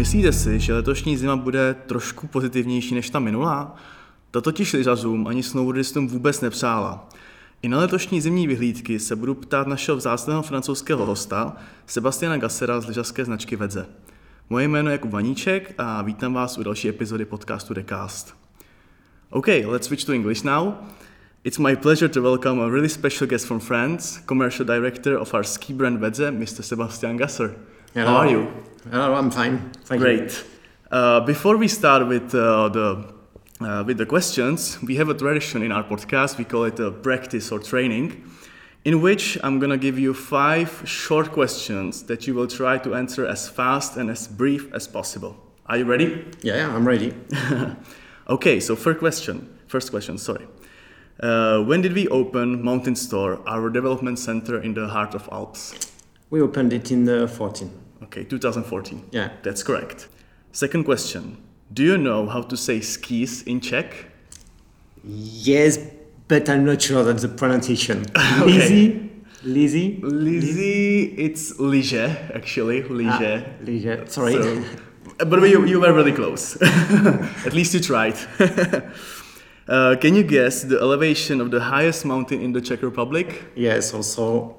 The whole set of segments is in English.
Myslíte si, že letošní zima bude trošku pozitivnější než ta minulá? To totiž lyžařům ani snowboardistům vůbec nepřála. I na letošní zimní vyhlídky se budu ptát našeho vzácného francouzského hosta, Sebastiana Gassera z lyžařské značky Wedze. Moje jméno je Jakub Vaníček a vítám vás u další epizody podcastu The Cast. Okay, let's switch to English now. It's my pleasure to welcome a really special guest from France, commercial director of our ski brand Wedze, Mr. Sebastian Gasser. Hello. How are you? Hello, I'm fine. Thank you. Great. Before we start with the questions, we have a tradition in our podcast. We call it a practice or training, in which I'm gonna give you 5 short questions that you will try to answer as fast and as brief as possible. Are you ready? Yeah, I'm ready. Okay, so first question. When did we open Mountain Store, our development center in the heart of Alps? We opened it in 2014. Okay, 2014. Yeah. That's correct. Second question. Do you know how to say skis in Czech? Yes, but I'm not sure that's the pronunciation. Okay. Lizzy? It's lyže, actually. Lyže. Liege. Sorry. But you were really close. At least you tried. Can you guess the elevation of the highest mountain in the Czech Republic? Yes, also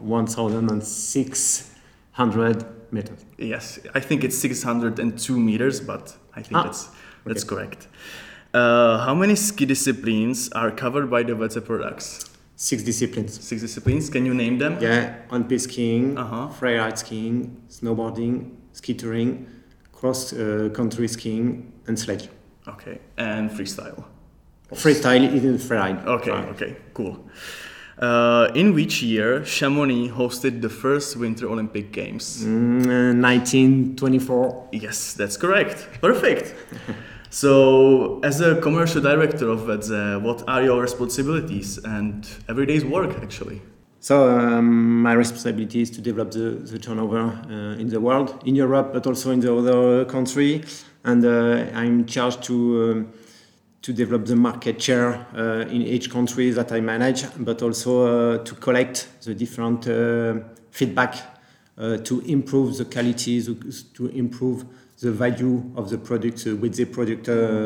1,600 meters. Yes, I think it's 602 meters, but I think that's okay. correct. How many ski disciplines are covered by the Wedze products? 6 disciplines. 6 disciplines. Can you name them? Yeah, on-piste skiing, Uh-huh. freeride skiing, snowboarding, ski touring, cross-country skiing, and sledge. Okay, and freestyle. Freestyle is freeride. Okay, cool. In which year Chamonix hosted the first Winter Olympic Games? 1924. Yes, that's correct. Perfect. So, as a commercial director of Wedze, what are your responsibilities and everyday's work, actually? So my responsibility is to develop the turnover in the world, in Europe, but also in the other country. And I'm charged to develop the market share in each country that I manage, but also to collect the different feedback to improve the quality, to improve the value of the product with the product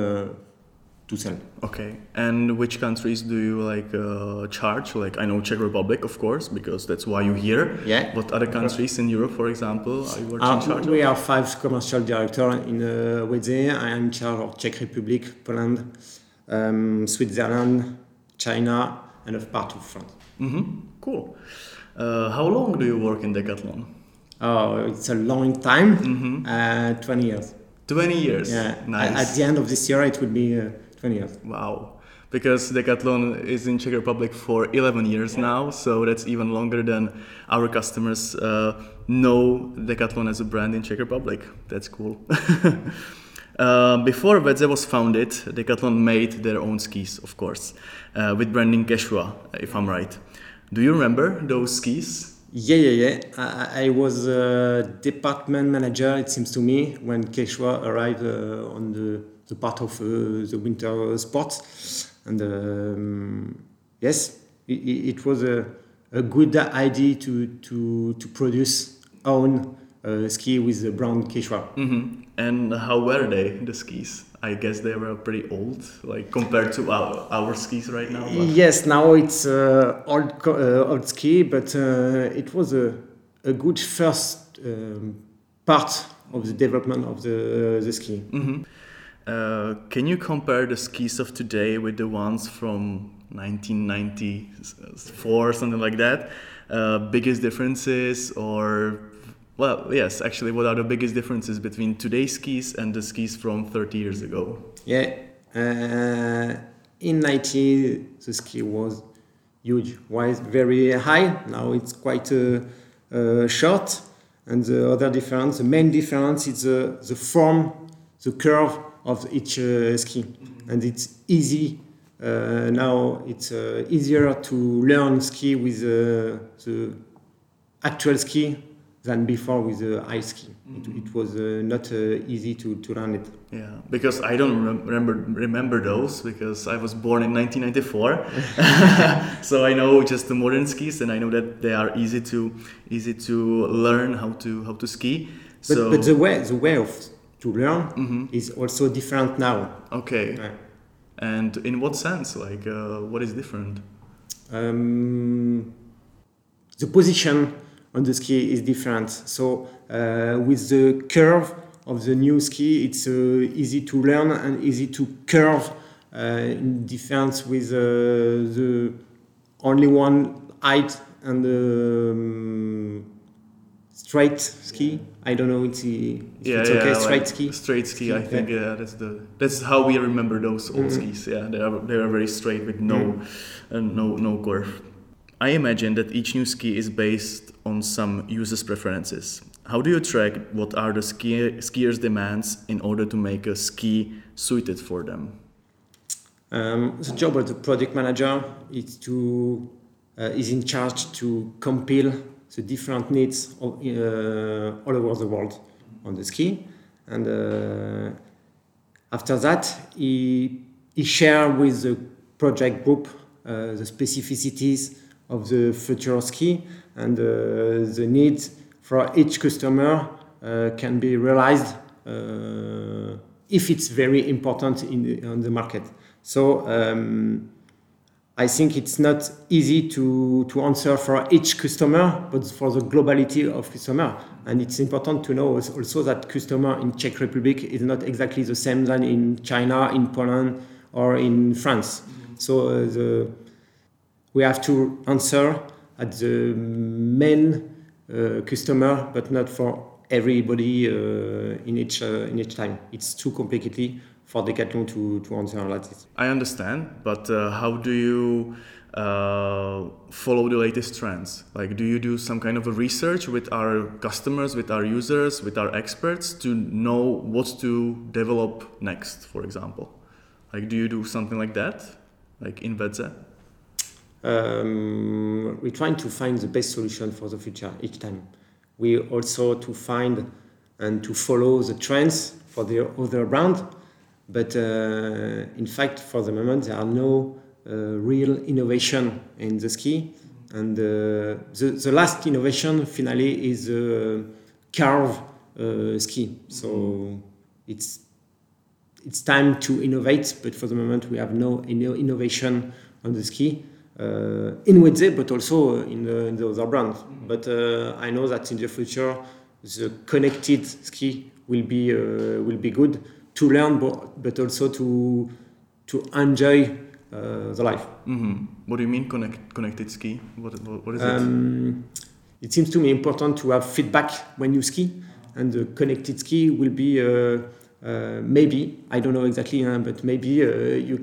to sell. Okay, and which countries do you charge? Like, I know Czech Republic, of course, because that's why you're here. Yeah. What other countries in Europe, for example, are you working in charge of? We are 5 commercial directors in Wedze. I am in charge of Czech Republic, Poland, Switzerland, China, and a part of France. Mm-hmm. Cool. How long do you work in Decathlon? Oh, it's a long time. Mm-hmm. 20 years. 20 years. Yeah. Nice. At the end of this year, it will be 20 years. Wow. Because Decathlon is in Czech Republic for 11 years now, so that's even longer than our customers know Decathlon as a brand in Czech Republic. That's cool. Before Wedze was founded, Decathlon made their own skis, of course, with branding Quechua, if I'm right. Do you remember those skis? Yeah. I was a department manager, it seems to me, when Quechua arrived on the part of the winter sports. And yes, it was a good idea to produce own ski with the brand Quechua. Mm-hmm. And how were they, the skis? I guess they were pretty old, like compared to our skis right now. But... Yes, now it's old ski, but it was a good first part of the development of the ski. Mm-hmm. Can you compare the skis of today with the ones from 1994, something like that? Biggest differences or... Well, yes, actually, what are the biggest differences between today's skis and the skis from 30 years ago? Yeah, in 90 the ski was huge, was very high. Now it's quite short. And the other difference, the main difference is the form, the curve of each ski. Mm-hmm. And it's easy. Now it's easier to learn ski with the actual ski than before with the ice ski. Mm-hmm. It was not easy to learn it. Yeah, because I don't remember those because I was born in 1994. So I know just the modern skis, and I know that they are easy to learn how to ski. But the way of learn is also different now. Okay. And in what sense? Like, what is different? The position on the ski is different. So with the curve of the new ski, it's easy to learn and easy to curve in difference with the only one height and straight ski. I don't know if it's okay. Straight like ski. Straight ski. I think that's how we remember those old skis. Yeah, they are very straight with no curve. I imagine that each new ski is based on some users' preferences. How do you track what are the skiers' demands in order to make a ski suited for them? The job of the product manager is in charge to compile the different needs all over the world on the ski, and after that he shares with the project group the specificities of the future ski, and the needs for each customer can be realized if it's very important on the market. So I think it's not easy to answer for each customer, but for the globality of customer. And it's important to know also that customer in Czech Republic is not exactly the same than in China, in Poland, or in France. So we have to answer at the main customer, but not for everybody in each time. It's too complicated for Decathlon to answer like this. I understand, but how do you follow the latest trends? Like, do you do some kind of a research with our customers, with our users, with our experts to know what to develop next, for example? Like, do you do something like that, like in Wedze? We're trying to find the best solution for the future each time. We also to find and to follow the trends for the other brand. But in fact, for the moment, there are no real innovation in the ski. And the last innovation, finally, is curve ski. So it's time to innovate, but for the moment, we have no innovation on the ski. In Wedze, but also in the other brands. But I know that in the future, the connected ski will be good to learn, but also to enjoy the life. Mm-hmm. What do you mean connected ski? What is it? It seems to me important to have feedback when you ski, and the connected ski will be maybe, I don't know exactly, but maybe you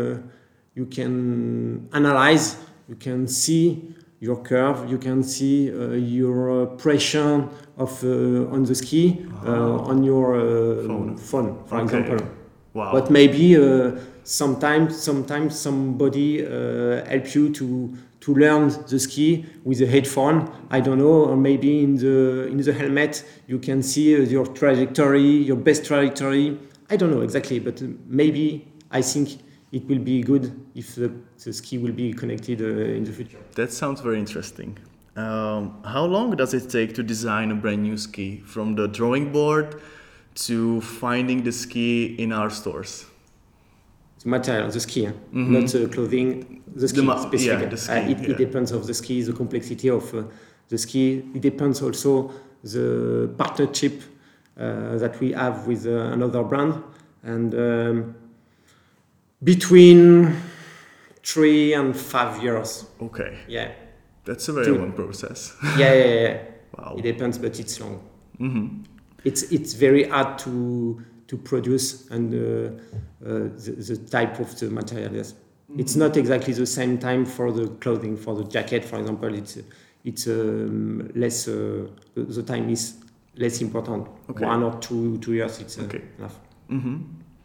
can analyze, you can see your curve, you can see your pressure on the ski on your phone, for example. Wow. But maybe sometimes somebody help you to learn the ski with a headphone. I don't know, or maybe in the helmet you can see your trajectory, your best trajectory. I don't know exactly, but maybe I think it will be good if the ski will be connected in the future. That sounds very interesting. How long does it take to design a brand new ski, from the drawing board to finding the ski in our stores? The material, the ski, not the clothing, the ski specifically. Yeah, the ski, it depends of the ski, the complexity of the ski. It depends also the partnership that we have with another brand, and between 3 and 5 years. Okay. Yeah. That's a very long process. Yeah. Wow. It depends, but it's long. Mm-hmm. It's very hard to produce, and the type of the material. Yes. Mm-hmm. It's not exactly the same time for the clothing. For the jacket, for example, it's less. The time is less important. Okay. 1 or 2 years. It's enough. Mm-hmm.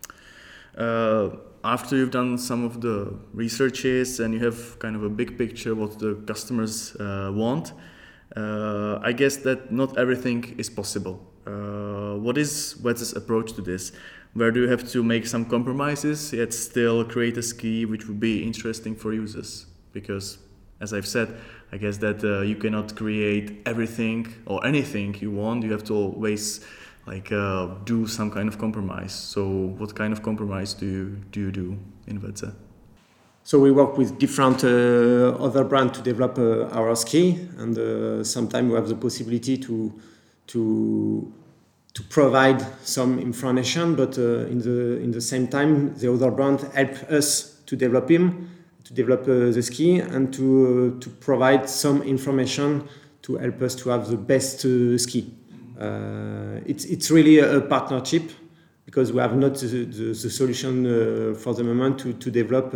After you've done some of the researches and you have kind of a big picture what the customers want, I guess that not everything is possible. What is Wedze's approach to this? Where do you have to make some compromises yet still create a ski which would be interesting for users? Because, as I've said, I guess that you cannot create everything or anything you want. You have to always do some kind of compromise. So what kind of compromise do you do in VC? So we work with different other brands to develop our ski, and sometimes we have the possibility to provide some information, but in the same time, the other brand help us to develop the ski, and to provide some information to help us to have the best ski. It's really a partnership, because we have not the solution for the moment to develop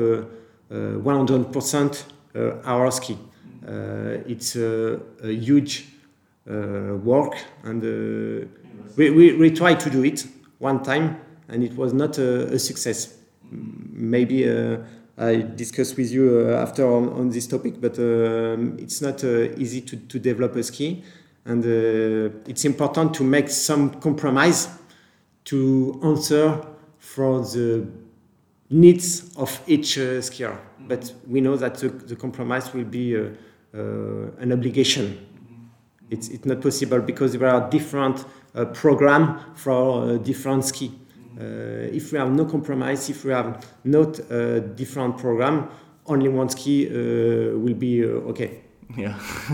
100% our ski. It's a huge work, and we tried to do it one time, and it was not a success. Maybe I discuss with you after on this topic, but it's not easy to develop a ski, and it's important to make some compromise to answer for the needs of each skier. But we know that the compromise will be an obligation. It's not possible, because there are different programs for different ski. If we have no compromise, if we have not a different program, only one ski will be okay. Yeah.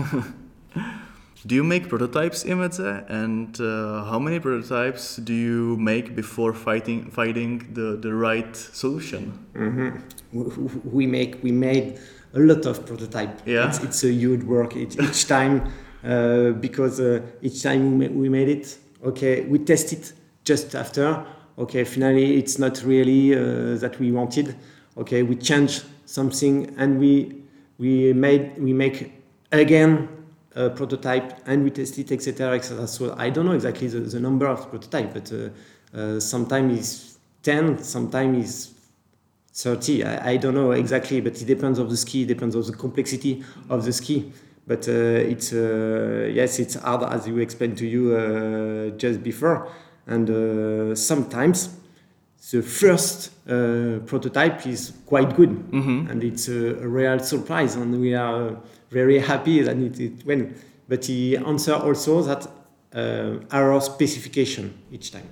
Do you make prototypes in VC? And how many prototypes do you make before finding the right solution? Mm-hmm. We made a lot of prototypes. Yeah. It's a huge work each time, because each time we made it, okay, we test it just after. Okay, finally it's not really that we wanted. Okay, we change something, and we make again a prototype, and we test it, etc., etc. So I don't know exactly the number of prototype, but sometimes it's 10, sometimes it's 30. I don't know exactly, but it depends of the ski, it depends of the complexity of the ski. But it's hard, as you explained to you just before. And sometimes the first prototype is quite good, and it's a real surprise, and we are very happy that it went. But he answered also that our specification each time.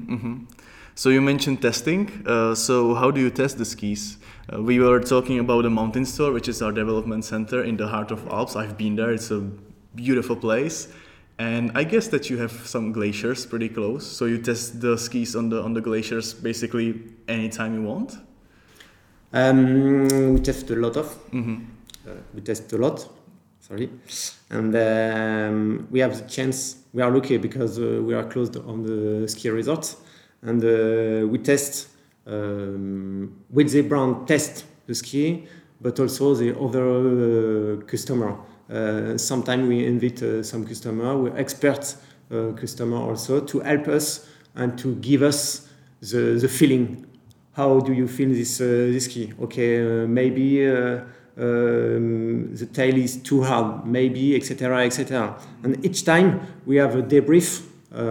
So you mentioned testing. So how do you test the skis? We were talking about the Mountain Store, which is our development center in the heart of Alps. I've been there. It's a beautiful place. And I guess that you have some glaciers pretty close, so you test the skis on the glaciers basically anytime you want. We test a lot of. We test a lot. Sorry, and we have the chance. We are lucky because we are close on the ski resort, and we test with the brand test the ski, but also the other customer. Sometimes we invite some customer, we expert customer also, to help us and to give us the feeling. How do you feel this ski? Okay, maybe the tail is too hard, maybe, etc., etc. And each time we have a debrief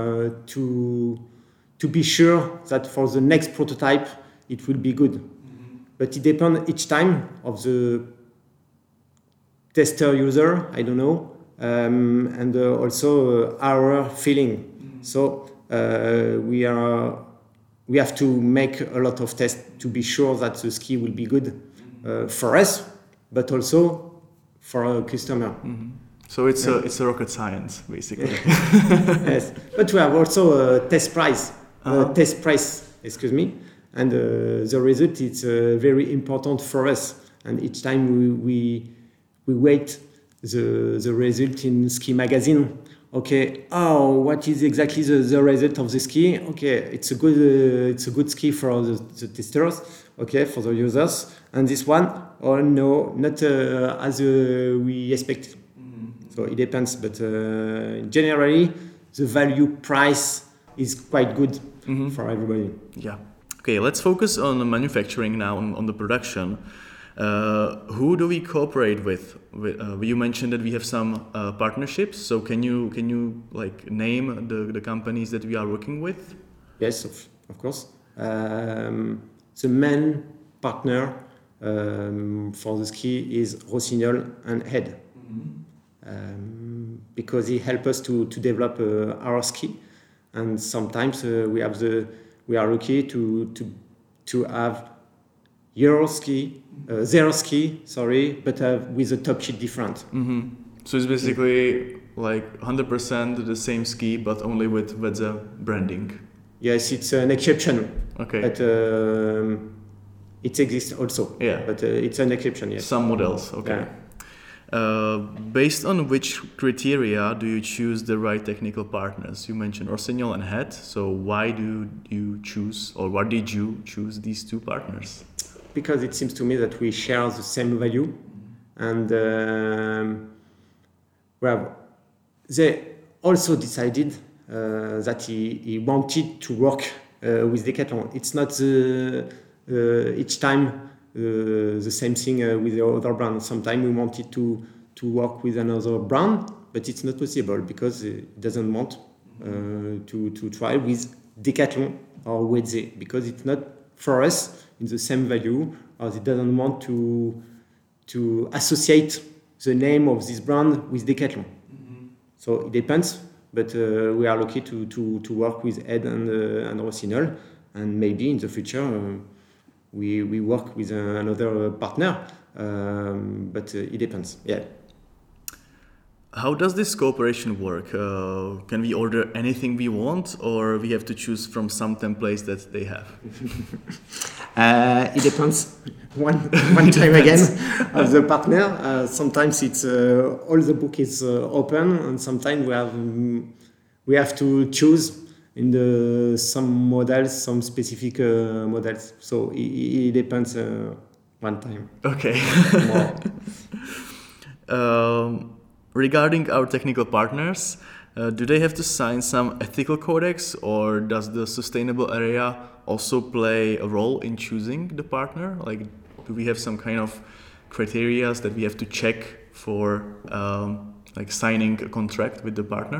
to be sure that for the next prototype it will be good. But it depends each time of the tester user, I don't know, and also our feeling. So we have to make a lot of tests to be sure that the ski will be good for us, but also for our customer. So it's a rocket science, basically. Yes, but we have also a test price. Excuse me, and the result is very important for us. And each time we wait the result in ski magazine. Okay, what is exactly the result of the ski? Okay, it's a good ski for the testers. Okay, for the users. And this one, no, not as we expected. So it depends, but generally the value price is quite good for everybody. Yeah. Okay, let's focus on the manufacturing now, on the production. Who do we cooperate with? You mentioned that we have some partnerships. So can you like name the companies that we are working with? Yes, of course. The main partner for the ski is Rossignol and Head, because he helped us to develop our ski, and sometimes we are lucky to have zero ski, but with a top sheet different. Mm-hmm. So it's basically like 100% the same ski, but only with the branding. Yes, it's an exception. Okay. But it exists also. Yeah. But it's an exception. Yes. Some models. Okay. Yeah. Based on which criteria do you choose the right technical partners? You mentioned Rossignol and Het. So why do you choose, or why did you choose these two partners? Because it seems to me that we share the same value, and they also decided that he wanted to work with Decathlon. It's not each time the same thing with the other brand. Sometimes we wanted to work with another brand, but it's not possible because it doesn't want to try with Decathlon or Wedze, because it's not for us in the same value, or it doesn't want to associate the name of this brand with Decathlon. Mm-hmm. So it depends, but we are lucky to work with Ed and Rossignol, and maybe in the future we work with another partner, but it depends. Yeah. How does this cooperation work? Can we order anything we want, or we have to choose from some templates that they have? It depends. One time again of the partner. Sometimes it's all the book is open, and sometimes we have to choose in some models, some specific models. So it depends. One time. Okay. Regarding our technical partners, do they have to sign some ethical codex, or does the sustainable area also play a role in choosing the partner? Like, do we have some kind of criteria that we have to check for like signing a contract with the partner?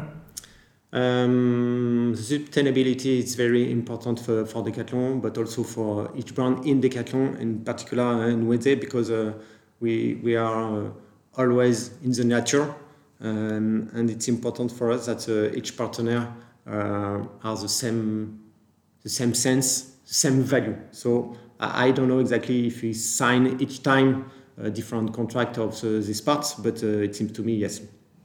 Sustainability is very important for Decathlon, but also for each brand in Decathlon, in particular in Wedze, because we are always in the nature. And it's important for us that each partner has the same sense, the same value. So I don't know exactly if we sign each time a different contract of these parts, but it seems to me, yes.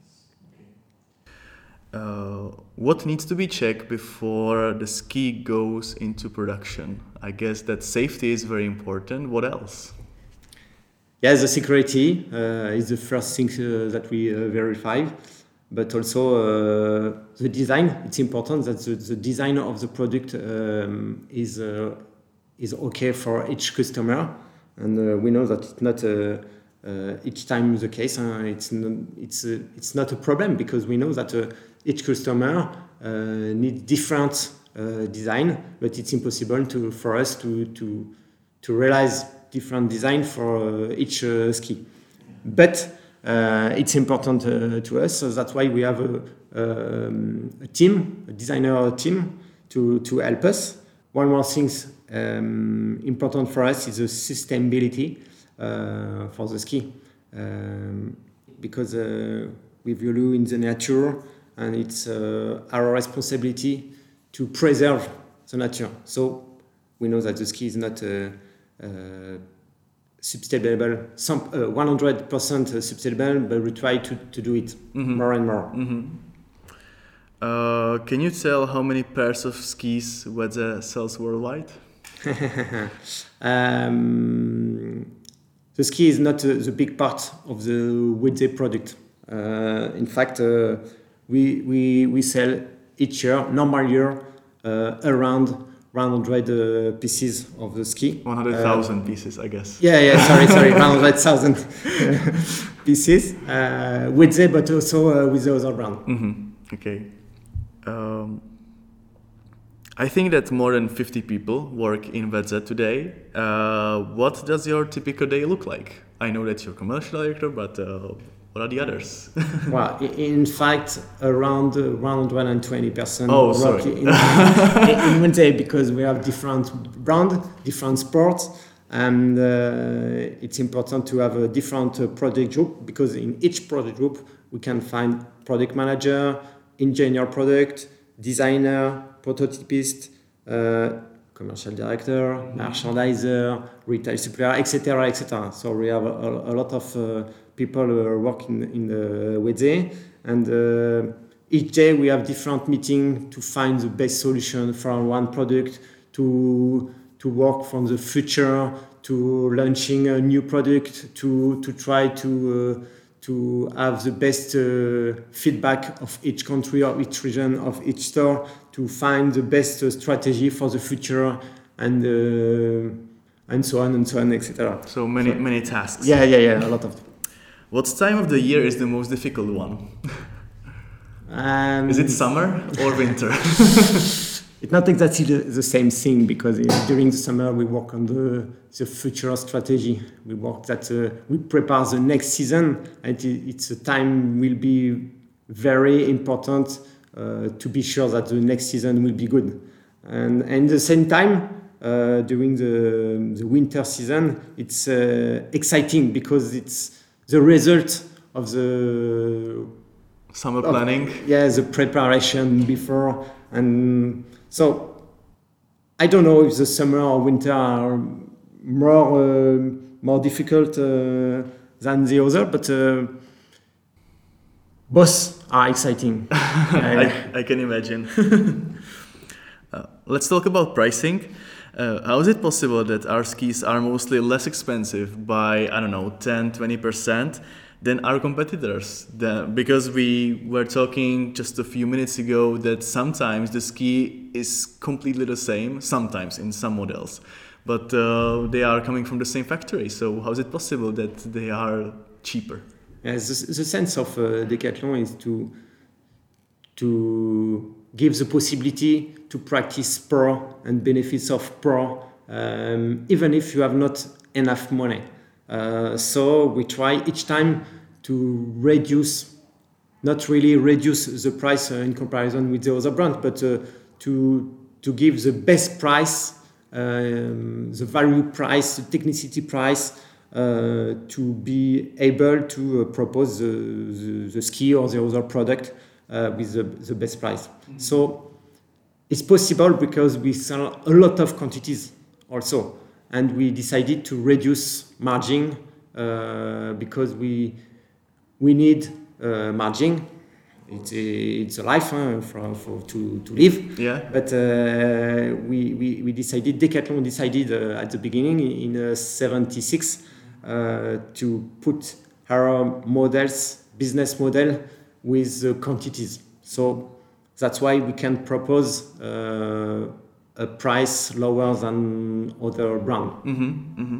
What needs to be checked before the ski goes into production? I guess that safety is very important. What else? Yes, the security is the first thing that we verify, but also the design. It's important that the design of the product is okay for each customer, and we know that it's not each time the case. It's not a problem, because we know that each customer needs different design, but it's impossible for us to realize different design for each ski. But it's important to us, so that's why we have a team, a designer team, to help us. One more thing important for us is the sustainability for the ski, because we value in the nature, and it's our responsibility to preserve the nature. So we know that the ski is not sustainable, 100% sustainable, but we try to do it more and more. Mm-hmm. Can you tell how many pairs of skis Wedze sells worldwide? The ski is not the big part of the Wedze product. In fact, we sell each year, normal year, around 100 pieces of the ski. 100,000 pieces, I guess. Sorry, 100,000 pieces. Wedze, but also with the other brand. Mm-hmm. Okay. I think that more than 50 people work in Wedze today. What does your typical day look like? I know that you're commercial director, but what are the others? Well, in fact, around 120% work in Wedze, because we have different brands, different sports, and it's important to have a different product group, because in each product group we can find product manager, engineer product, designer, prototypist, commercial director, merchandiser, retail supplier, etc., etc. So we have a lot of people who are working in the Wedze, and each day we have different meetings to find the best solution for one product, to work from the future, to launching a new product, to try to have the best feedback of each country or each region of each store, to find the best strategy for the future, and so on and so on, etc. So many tasks. Yeah, a lot of. What time of the year is the most difficult one? Is it summer or winter? It's not exactly the same thing, because during the summer we work on the future strategy. We work that we prepare the next season, and it's a time will be very important to be sure that the next season will be good. And at the same time, during the winter season, it's exciting because it's the result of the summer planning. The preparation before. And so I don't know if the summer or winter are more difficult than the other, but both are exciting. I can imagine. Let's talk about pricing. How is it possible that our skis are mostly less expensive by, 10-20% than our competitors? Because we were talking just a few minutes ago that sometimes the ski is completely the same, sometimes in some models, but they are coming from the same factory. So how is it possible that they are cheaper? Yes, the sense of Decathlon is to give the possibility to practice pro and benefits of pro, even if you have not enough money. So we try each time to not really reduce the price in comparison with the other brand, but to give the best price, the value price, the technicity price, to be able to propose the ski or the other product with the best price. Mm-hmm. So it's possible because we sell a lot of quantities also, and we decided to reduce margin because we need margin. It's a life to live. Yeah. But we decided, Decathlon decided at the beginning in 76 to put our business model with quantities. So that's why we can propose a price lower than other brand. Mm-hmm, mm-hmm.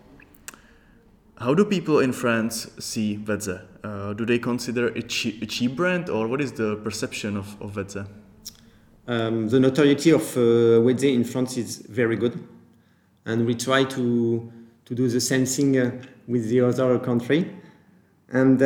How do people in France see Wedze? Do they consider it a cheap brand, or what is the perception of Wedze? The notoriety of Wedze in France is very good, and we try to do the same thing with the other country. And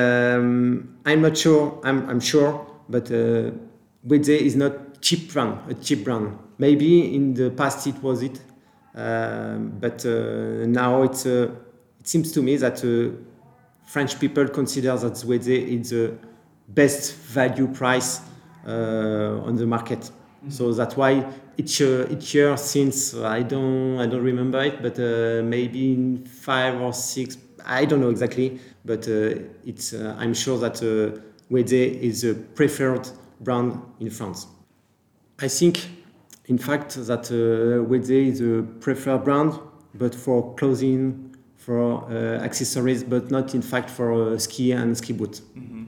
I'm not sure. I'm sure, but Wedze is not a cheap brand. Maybe in the past it was it, but now it seems to me that French people consider that Wedze is the best value price on the market. Mm-hmm. So that's why each year since I don't remember it, but maybe in 5 or 6, I don't know exactly, but it's I'm sure that Wedze is a preferred brand in France. I think, in fact, that Wedze is a preferred brand, but for clothing, for accessories, but not in fact for ski and ski boot.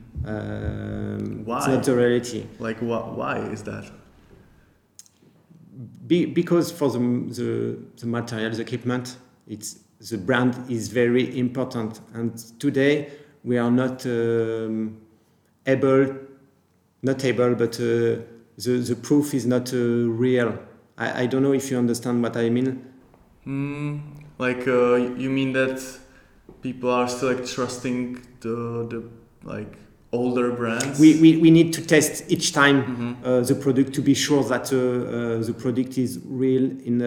Mm-hmm. Why? It's not the reality. Like why is that? Because for the material, the equipment, the brand is very important, and today we are not able, but the proof is not real. I don't know if you understand what I mean. Like you mean that people are still trusting the older brands? We need to test each time the product to be sure that the product is real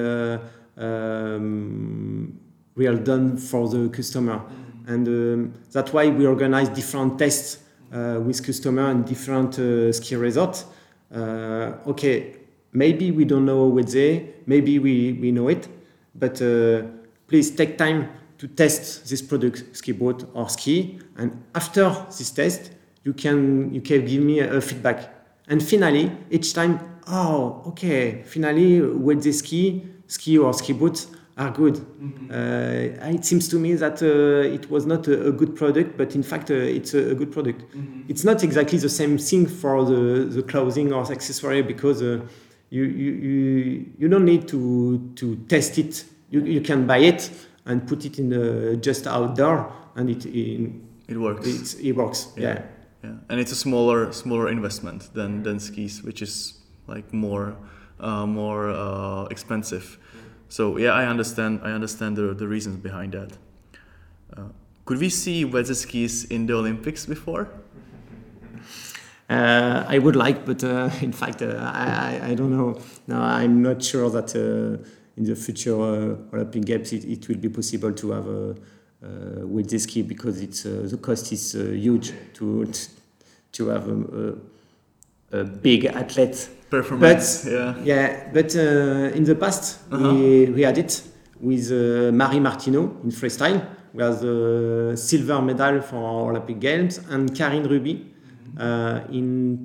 real done for the customer, and that's why we organize different tests with customer and different ski resorts okay, maybe we don't know Wedze, maybe we know it, but please take time to test this product, ski boat or ski, and after this test, you can give me a feedback. And finally, each time, oh, okay, finally, Wedze ski or ski boats are good. It seems to me that it was not a good product, but in fact, it's a good product. It's not exactly the same thing for the clothing or accessory, because you don't need to test it. You can buy it and put it in just outdoor, and it works. It works. Yeah. And it's a smaller investment than skis, which is like more expensive. So yeah, I understand the reasons behind that. Could we see Wedze skis in the Olympics before? I would like, but in fact, I don't know. No, I'm not sure that in the future Olympic Games it will be possible to have Wedze ski, because the cost is huge to have a big athlete. Performance, but in the past we had it with Marie Martineau in freestyle, who has the silver medal for Olympic Games, and Karine Ruby in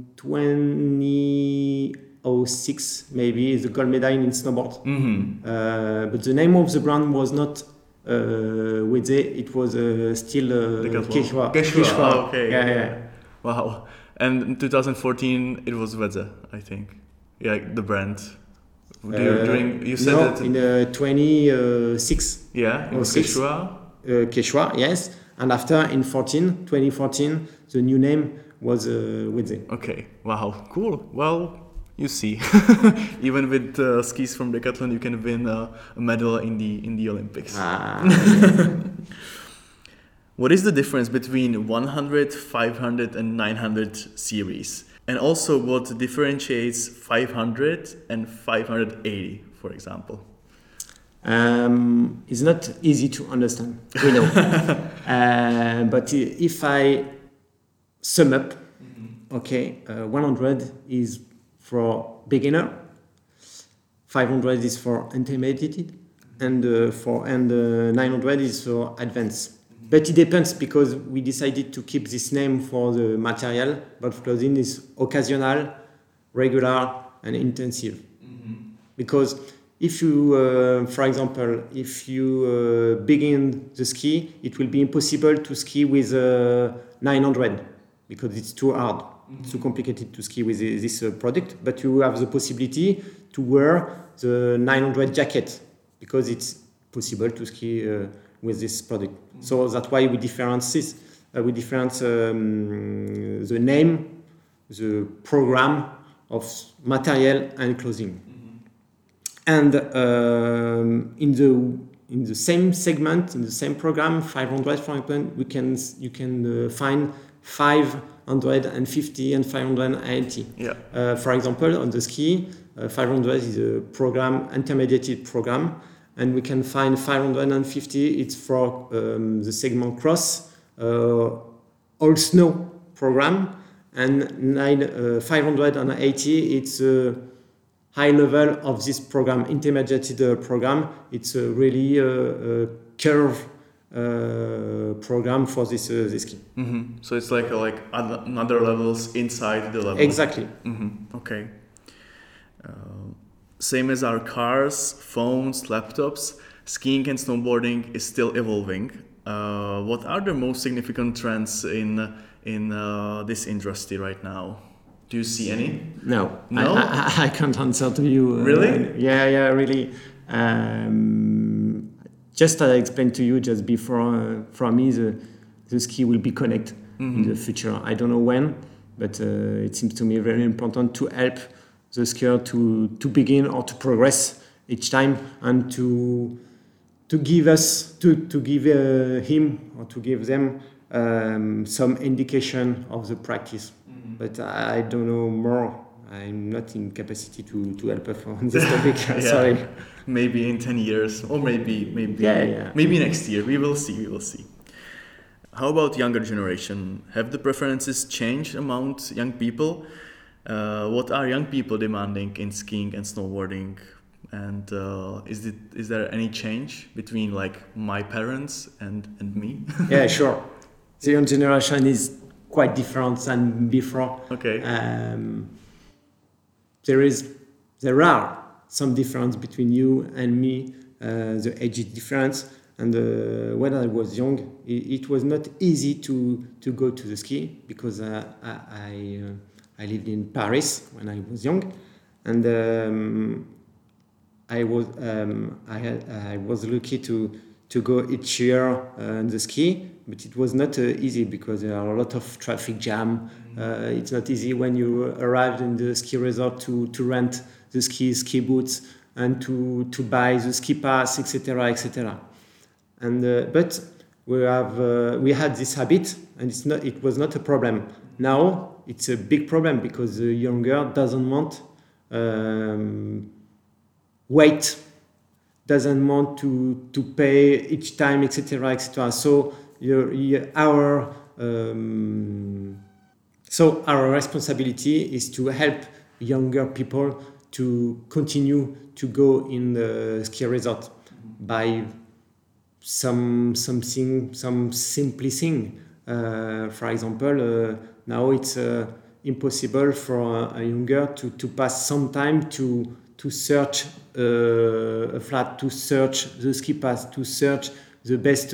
2006 maybe the gold medal in snowboard. But the name of the brand was not Wedze, it was still Quechua. Oh, okay. Yeah. Wow. And in 2014, it was Wedze, I think. Yeah, the brand. You said that in 2006. Yeah, it was Quechua. Quechua, yes. And after in 2014, the new name was Wedze. Okay. Wow. Cool. Well, you see, even with skis from Decathlon, you can win a medal in the Olympics. What is the difference between 100, 500 and 900 series? And also what differentiates 500 and 580, for example? It's not easy to understand, we know. But if I sum up, 100 is for beginner, 500 is for intermediate, and 900 is for advanced. But it depends, because we decided to keep this name for the material, but clothing is occasional, regular, and intensive. Because if you, for example, if you begin the ski, it will be impossible to ski with 900, because it's too hard. It's too complicated to ski with this product, but you have the possibility to wear the 900 jacket, because it's possible to ski with this product. So that's why we difference this. We difference the name, the program of material and clothing. And in the same segment, in the same program, 500, for example, you can find 550 and 580. For example, on the ski, 500 is a program, intermediate program, and we can find 550. It's for the segment cross, all snow program, and 580. It's a high level of this program, intermediate program. It's a really curve program for this ski. So it's like another levels inside the level. Exactly. Okay. Same as our cars, phones, laptops, skiing and snowboarding is still evolving. What are the most significant trends in this industry right now? Do you see any? No? I can't answer to you. Really? Yeah, really. Just as I explained to you just before, for me, the ski will be connected in the future. I don't know when, but it seems to me very important to help the skier to begin or to progress each time, and to give him or to give them some indication of the practice. But I don't know more. I'm not in capacity to help on this topic. Sorry. Maybe in 10 years, or maybe next year. We will see. How about younger generation? Have the preferences changed among young people? What are young people demanding in skiing and snowboarding? And is there any change between like my parents and me? Yeah, sure. The young generation is quite different than before. Okay. There are some difference between you and me. The age is different, and when I was young, it was not easy to go to the ski because I lived in Paris when I was young, and I was lucky to go each year on the ski, but it was not easy because there are a lot of traffic jam. It's not easy when you arrive in the ski resort to rent the ski boots and to buy the ski pass, etc., etc. And but we had this habit, and it was not a problem. Now it's a big problem because the younger doesn't want wait, doesn't want to pay each time, etc., etc. So our responsibility is to help younger people to continue to go in the ski resort by some simply thing. For example, now it's impossible for a younger to pass some time to search a flat, to search the ski pass, to search the best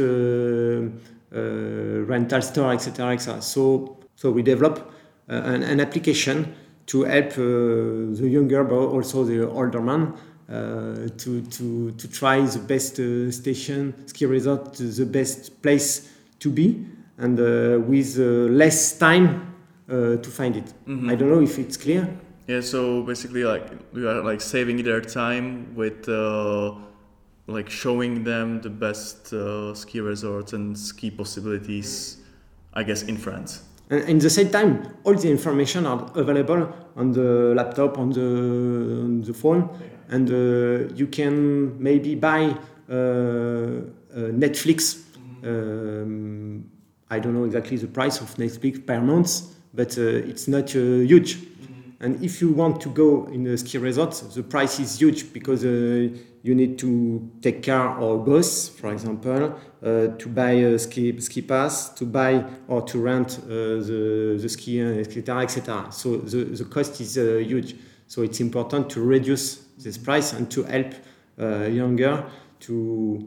rental store, etc., etc. So we develop an application to help the younger, but also the older man, to try the best station, ski resort, the best place to be, and with less time to find it. Mm-hmm. I don't know if it's clear. Yeah, so basically, like we are like saving their time with like showing them the best ski resorts and ski possibilities, I guess, in France. And in the same time, all the information are available on the laptop, on the phone, and you can maybe buy Netflix. Mm-hmm. I don't know exactly the price of Netflix per month, but it's not huge. And if you want to go in a ski resort, the price is huge because you need to take car or bus, for example, to buy a ski pass, to buy or to rent the ski, etc., etc. So the cost is huge. So it's important to reduce this price and to help younger to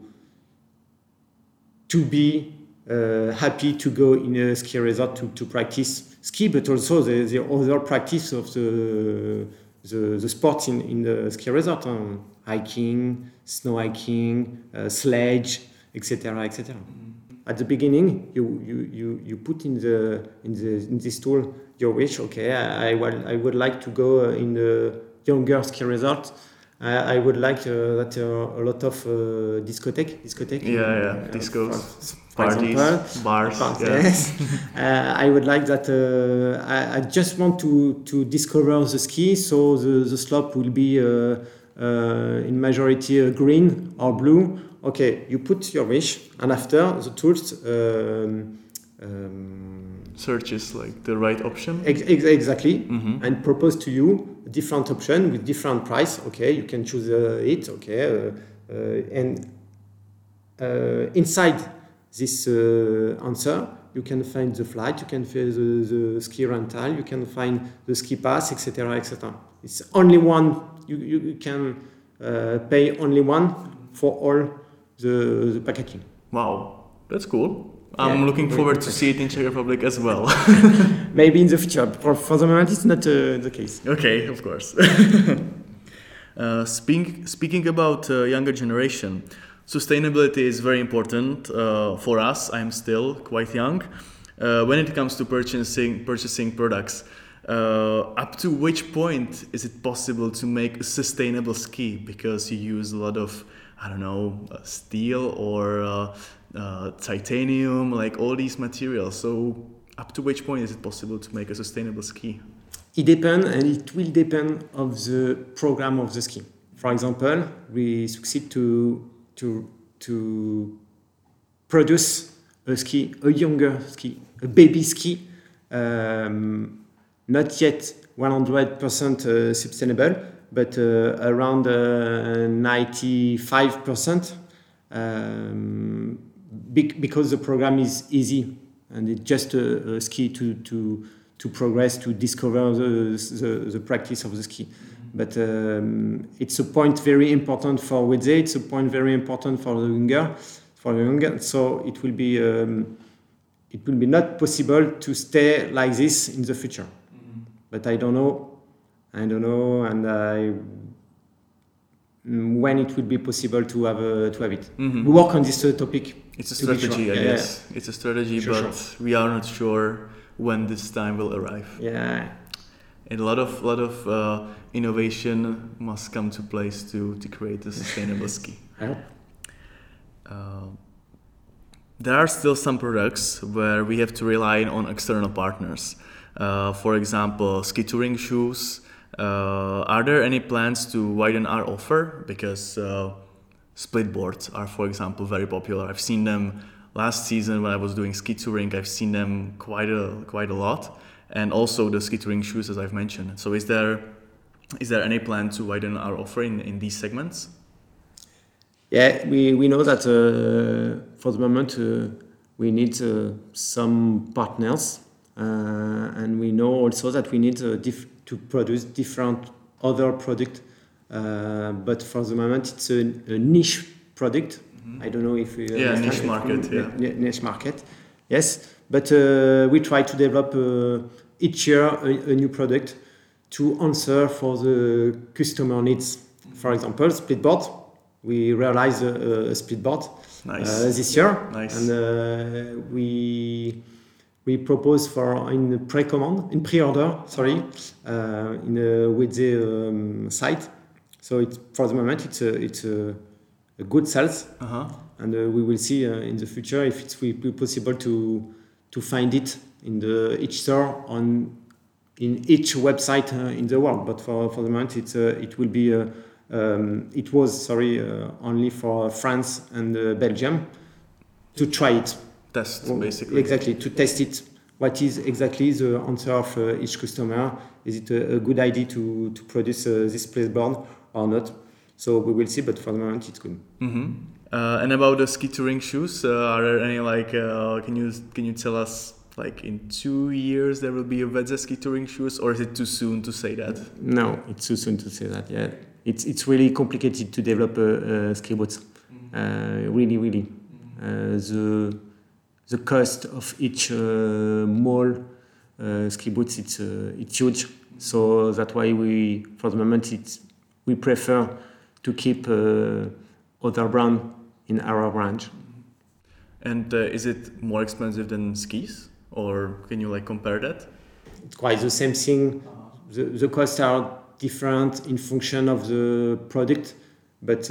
be happy to go in a ski resort to practice ski, but also the other practice of the sports in the ski resort, hiking, snow hiking, sledge, etc., etc. At the beginning, you put in this tool your wish. Okay, I would like to go in the younger ski resort. I would like that a lot of discotheque. Yeah, discos, parties, example, bars. Yes. I would like that. I just want to discover the ski, so the slope will be in majority green or blue. Okay, you put your wish, and after the tools searches like the right option. Exactly, mm-hmm. and propose to you a different option with different price. Okay, you can choose it. Okay, and inside this answer, you can find the flight, you can find the ski rental, you can find the ski pass, etc., etc. It's only one. You can pay only one for all the packaging. Wow, that's cool. I'm looking forward to see it in Czech Republic as well. Maybe in the future. For the moment, it's not the case. Okay, of course. Speaking about younger generation, sustainability is very important for us. I'm still quite young. When it comes to purchasing products, up to which point is it possible to make a sustainable ski? Because you use a lot of, I don't know, steel or titanium, like all these materials. So up to which point is it possible to make a sustainable ski? It depends, and it will depend of the program of the ski. For example, we succeed to produce a younger ski, a baby ski, not yet 100% sustainable, but around 95%, because the program is easy and it's just a ski to progress, to discover the practice of the ski. But it's a point very important for Wedze, it's a point very important for the younger. So it will be not possible to stay like this in the future. But I don't know, and when it will be possible to have it. We work on this topic. It's a strategy, sure. I guess. Yeah. It's a strategy, but we are not sure when this time will arrive. Yeah. And a lot of innovation must come to place to create a sustainable ski. There are still some products where we have to rely on external partners. For example, ski touring shoes. Are there any plans to widen our offer? Because split boards are, for example, very popular. I've seen them last season when I was doing ski touring. I've seen them quite a lot, and also the ski touring shoes, as I've mentioned. So, is there any plan to widen our offer in these segments? Yeah, we know that for the moment we need some partners, and we know also that we need to produce different other product. But for the moment, it's a niche product. I don't know if we niche market. Niche market. Yes, but we try to develop each year a new product to answer for the customer needs. For example, splitboard. We realized a splitboard this year, and we propose for in pre-order, in a Wedze site. So for the moment it's a good sales, and we will see in the future if it will be possible to find it in each store in each website in the world. But for the moment it will be. It was only for France and Belgium to try it. Test, basically. Exactly, to test it. What is exactly the answer of each customer? Is it a good idea to produce this playboard or not? So we will see, but for the moment it's good. And about the ski touring shoes, are there any can you tell us in 2 years there will be a Wedze ski touring shoes, or is it too soon to say that? No, it's too soon to say that. Yeah, it's really complicated to develop ski boots. Really. The cost of each mall ski boots it's huge. So that's why for the moment we prefer to keep other brand in our range. And is it more expensive than skis, or can you compare that? It's quite the same thing. The costs are different in function of the product, but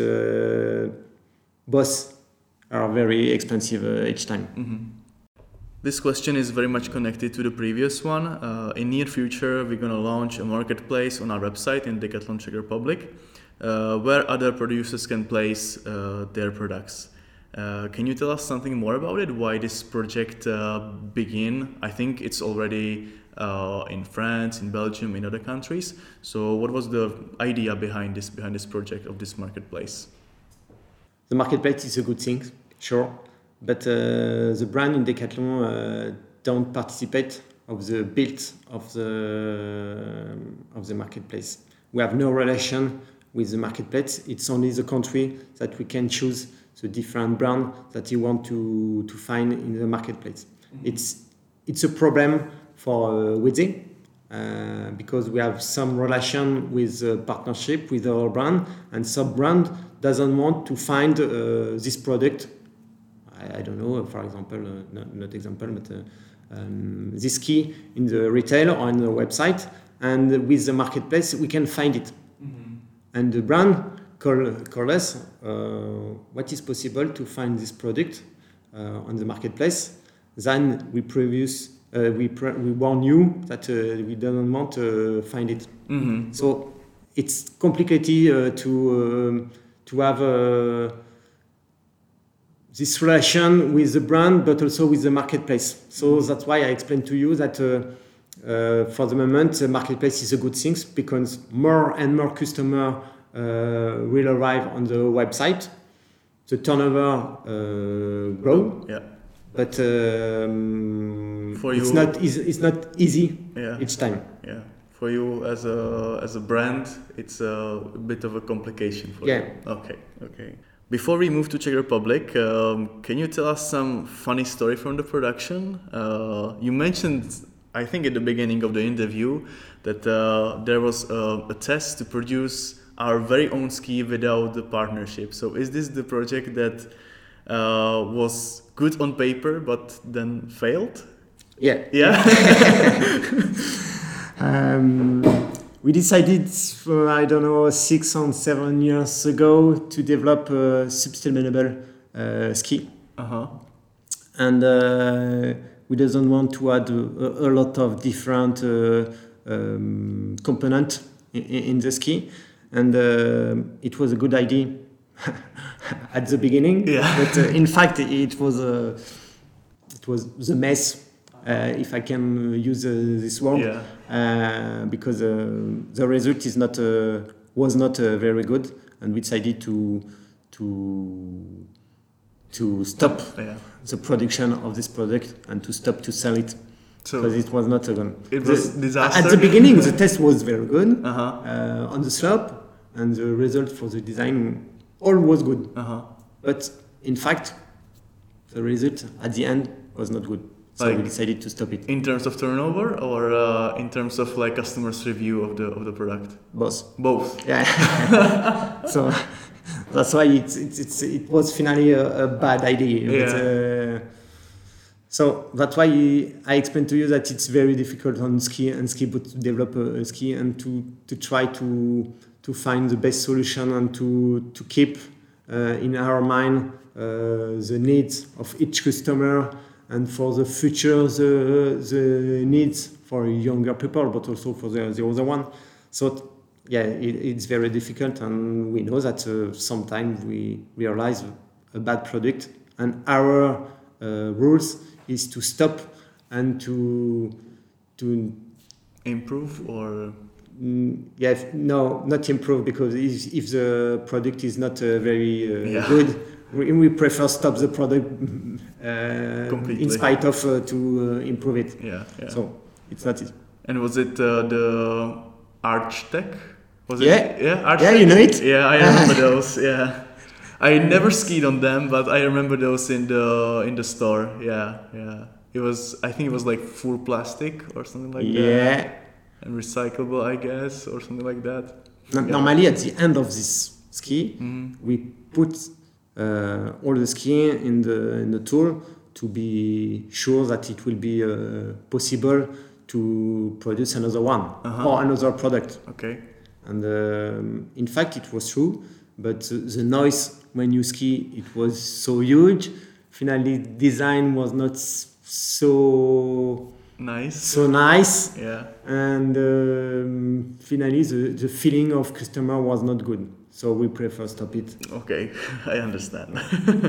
both are very expensive each time. This question is very much connected to the previous one. In near future, we're going to launch a marketplace on our website in Decathlon Czech Republic, where other producers can place their products. Can you tell us something more about it? Why this project began? I think it's already in France, in Belgium, in other countries. So what was the idea behind this project of this marketplace? The marketplace is a good thing, sure, but the brand in Decathlon don't participate of the build of the marketplace. We have no relation with the marketplace. It's only the country that we can choose the different brand that you want to find in the marketplace. It's a problem for Wedze because we have some relation with partnership with our brand, and some brand doesn't want to find this product. I don't know, for example, not example, but this key in the retail or on the website, and with the marketplace we can find it. And the brand call us what is possible to find this product on the marketplace. Then we warn you that we don't want to find it. So it's complicated to have this relation with the brand, but also with the marketplace. So that's why I explained to you that For the moment, the marketplace is a good thing because more and more customers will arrive on the website. The turnover grow, but for you, it's not easy each time. Yeah, for you as a brand, it's a bit of a complication for you. Okay. Before we move to Czech Republic, can you tell us some funny story from the production? You mentioned, I think at the beginning of the interview, that there was a test to produce our very own ski without the partnership. So is this the project that was good on paper but then failed? Yeah. We decided, I don't know, 6 or 7 years ago to develop a sustainable ski. And we doesn't want to add a lot of different components in the ski. And it was a good idea at the beginning, but in fact it was the mess, if I can use this word, because the result was not very good, and we decided to stop the production of this product and to stop to sell it. Because it was not good. It was disaster. At the beginning, the test was very good on the slope, and the result for the design all was good. But in fact, the result at the end was not good. So we decided to stop it. In terms of turnover, or in terms of like customers' review of the product? Both. Yeah. So that's why it was finally a bad idea. But, so that's why I explained to you that it's very difficult on ski boot to develop a ski and to try to find the best solution and to keep in our mind the needs of each customer, and for the future the needs for younger people, but also for the other one. So it's very difficult, and we know that sometimes we realize a bad product, and our rules is to stop and to improve, or no, not improve, because if the product is not very good, we prefer stop the product completely, in spite of to improve it. So it's not easy. And was it the Archtech? Was it? Archtech? Yeah, you know it. Yeah, I remember those. Yeah. I never skied on them, but I remember those in the store. Yeah. I think it was like full plastic or something like that. Yeah. And recyclable, I guess, or something like that. Normally, at the end of this ski, we put all the ski in the tool to be sure that it will be possible to produce another one or another product. Okay. And in fact, it was true, but the noise when you ski, it was so huge. Finally, design was not so nice. Yeah. And finally, the feeling of customer was not good. So we prefer stop it. Okay, I understand.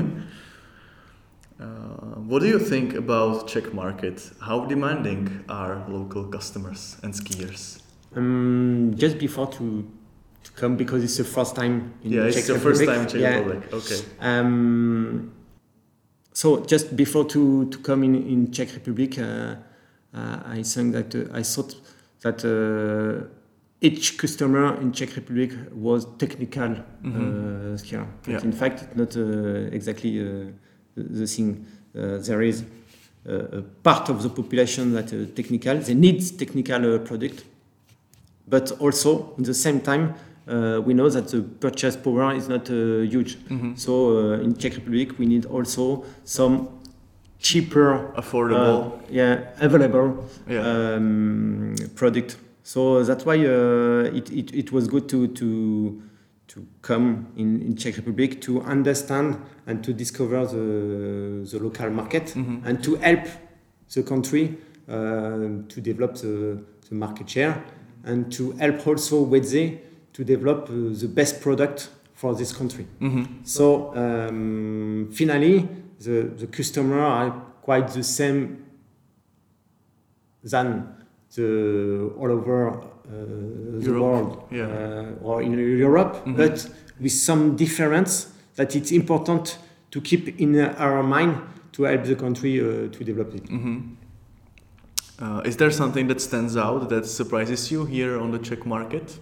What do you think about Czech market? How demanding are local customers and skiers? Just before to come, because it's the first time in Czech Republic. Yeah, it's the first time in Czech Republic. Okay. So just before to come in Czech Republic, I thought that each customer in Czech Republic was technical skier. But in fact, it's not exactly the thing. There is a part of the population that technical. They need technical product, but also at the same time, we know that the purchase power is not huge. So in Czech Republic, we need also some cheaper, affordable, available product. So that's why it was good to come in Czech Republic to understand and to discover the local market and to help the country to develop the market share, and to help also Wedze to develop the best product for this country. So finally, the customer are quite the same than all over the world or in Europe, but with some difference that it's important to keep in our mind to help the country to develop it. Is there something that stands out that surprises you here on the Czech market?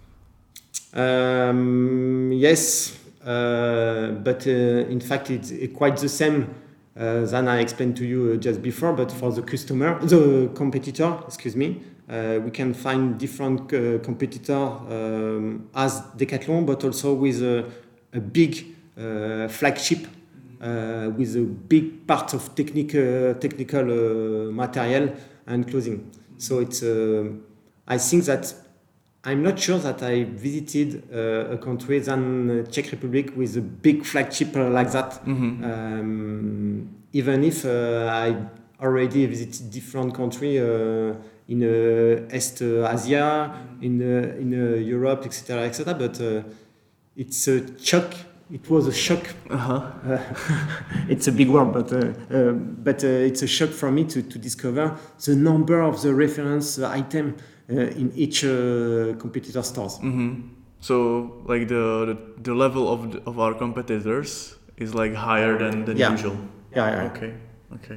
Yes, but in fact it's quite the same than I explained to you just before, but for the competitor, we can find different competitors as Decathlon, but also with a big flagship with a big part of technical material and clothing. So it's I think that I'm not sure that I visited a country than Czech Republic with a big flagship like that. Even if I already visited different countries in East Asia, in Europe, etc., but it's a shock. It was a shock. It's a big word, but it's a shock for me to discover the number of the reference item in each competitor stores. So, like the level of our competitors is like higher than usual. Yeah. Okay.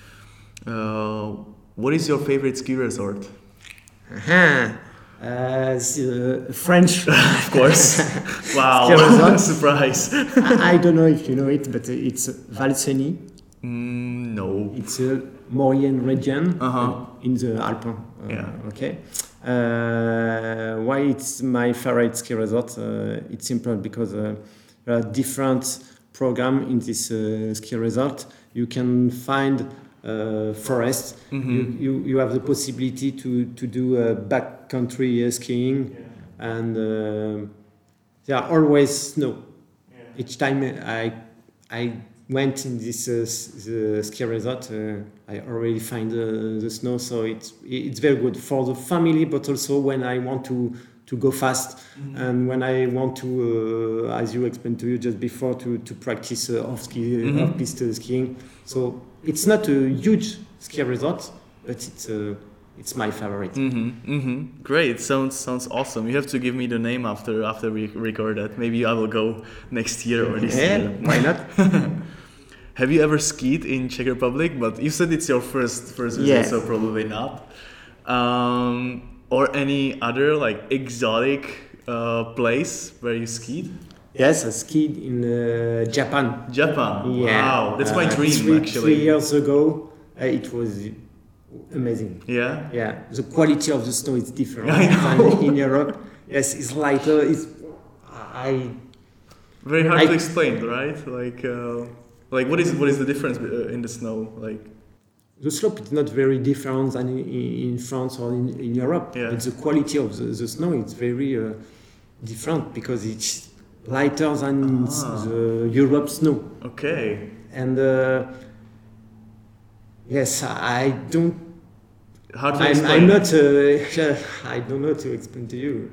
What is your favorite ski resort? French, of course. Wow, surprise! I don't know if you know it, but it's Valseny. No. It's a Maurienne region in the Alpes. Okay. Why it's my favorite ski resort? It's simple because there are different programs in this ski resort. You can find forest. You have the possibility to do backcountry skiing, and there are always snow. Each time I went in this ski resort, I already find the snow, so it's very good for the family, but also when I want to go fast and when I want to, as you explained to you just before, to practice off-piste skiing. So it's not a huge ski resort, but it's my favorite. Great, sounds awesome. You have to give me the name after we record that. Maybe I will go next year or this year. Why not? Have you ever skied in Czech Republic? But you said it's your first visit, so probably not. Or any other like exotic place where you skied? Yes, I skied in Japan. Japan? Yeah. Wow, that's my dream actually. 3 years ago, it was amazing. Yeah? Yeah, the quality of the snow is different than in Europe. Yes, it's lighter. Very hard to explain, right? Like what is the difference in the snow? Like the slope is not very different than in France or in Europe. Yeah. But the quality of the snow is very different because it's lighter than the Europe snow. Okay. And yes, I don't. How to explain? I'm not. I don't know to explain to you.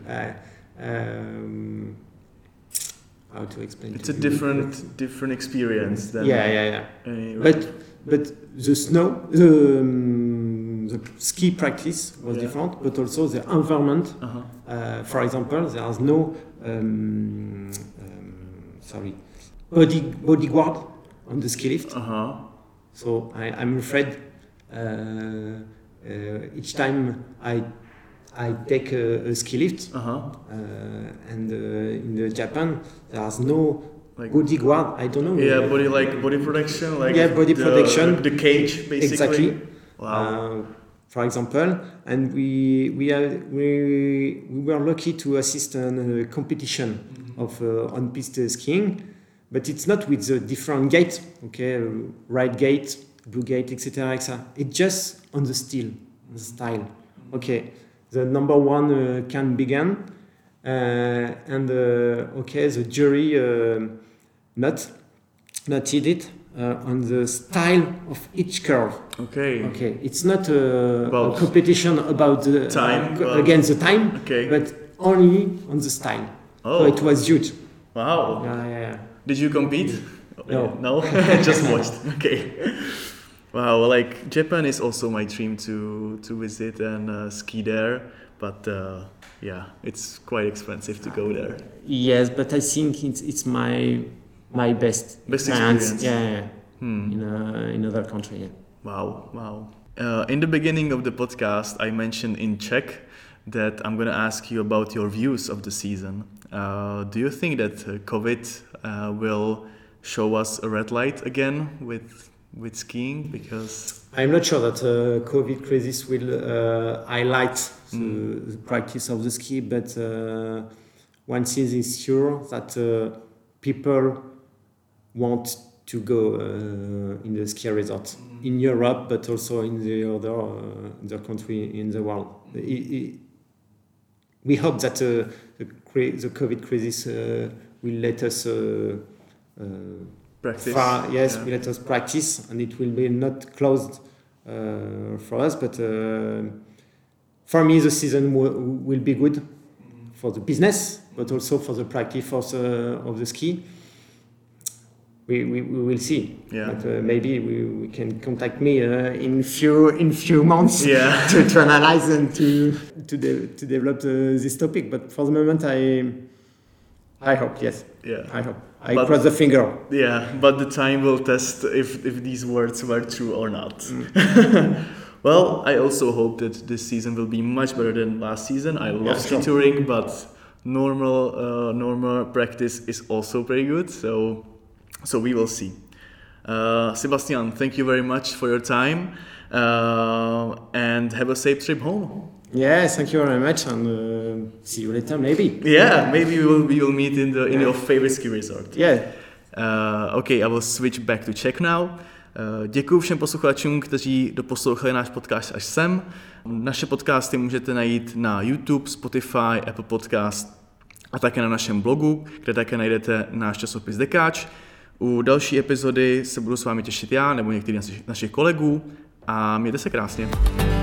How to explain? It's a different experience than. Yeah. But the snow, the ski practice was different, but also the environment. For example, there is no bodyguard on the ski lift. So I'm afraid each time I take a ski lift, and in Japan there's no bodyguard. I don't know. Yeah, body protection, body protection. The cage, basically. Exactly. Wow. For example, and we were lucky to assist a competition of on-piste skiing, but it's not with the different gates. Okay, red gate, blue gate, etc. It's just on the style. Okay. The number one can begin, and the jury noted it on the style of each curve. Okay. It's not a competition about the time against the time, but only on the style. Oh, so it was huge. Wow. Yeah. Did you compete? No. No. Just watched. Okay. Wow, like Japan is also my dream to visit and ski there, but yeah, it's quite expensive to go there. Yes, but I think it's my best experience. Yeah. In another country. Yeah. Wow. In the beginning of the podcast, I mentioned in Czech that I'm going to ask you about your views of the season. Do you think that COVID will show us a red light again with skiing? Because I'm not sure that COVID crisis will highlight the practice of the ski, but one thing is sure that people want to go in the ski resort in Europe, but also in the other country in the world. We hope that the COVID crisis will let us practice. Will let us practice, and it will be not closed for us. But for me, the season will be good for the business, but also for the practice of the ski. We will see. Yeah. But maybe we can contact me in few months to analyze and to develop this topic. But for the moment, I hope, yes. Yeah. I hope. I cross the finger. Yeah, but the time will test if these words were true or not. Well, I also hope that this season will be much better than last season. I love ski touring, but normal practice is also pretty good. So we will see. Sebastian, thank you very much for your time and have a safe trip home. Yeah, thank you very much, and see you later, maybe. Yeah, maybe we will meet in your favorite ski resort. Yeah. Okay, I will switch back to Czech now. Děkuji všem posluchačům, kteří doposlouchali náš podcast až sem. Naše podcasty můžete najít na YouTube, Spotify, Apple Podcast a také na našem blogu, kde také najdete náš časopis Dekáč. U další epizody se budu s vámi těšit já nebo některý z našich kolegů a mějte se krásně.